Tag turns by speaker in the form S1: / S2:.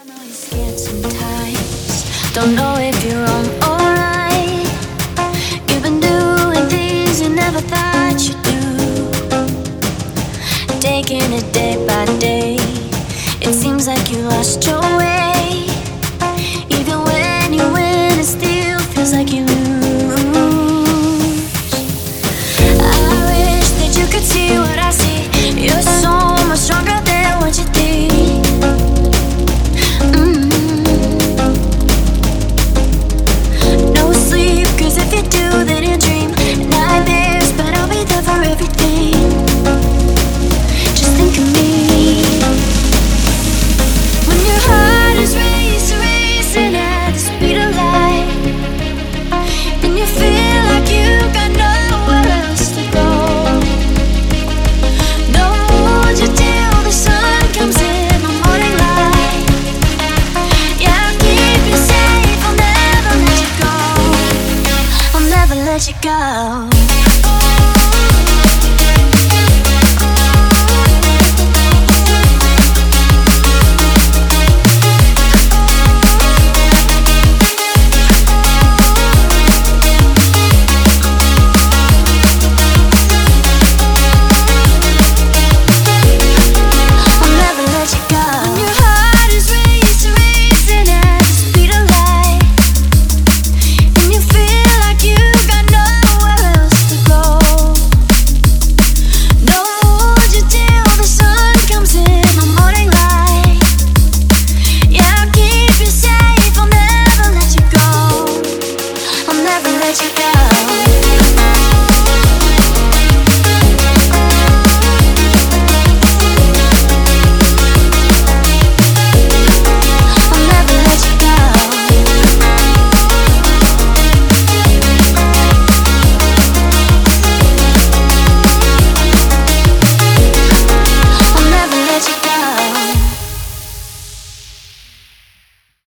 S1: I know you're scared sometimes, don't know if you're wrong or right. You've been doing things you never thought you'd do, taking it day by day. It seems like you lost your way. Even when you win, it still feels like you lose. I wish that you could see what I see. You're so much stronger than what you think. No sleep, cause if you do, then you dream nightmares, but I'll be there for everything. Just think of me. When your heart is racing, racing at the speed of light, and you feel like you got nowhere else to go. Don't hold you till the sun comes in the morning light. Yeah, I'll keep you safe, I'll never let you go. I'll never let you go.